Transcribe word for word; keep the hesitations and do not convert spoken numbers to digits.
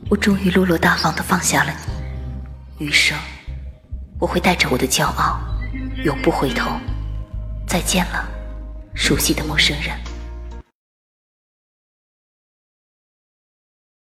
我终于落落大方地放下了你。余生，我会带着我的骄傲，永不回头。再见了，熟悉的陌生人。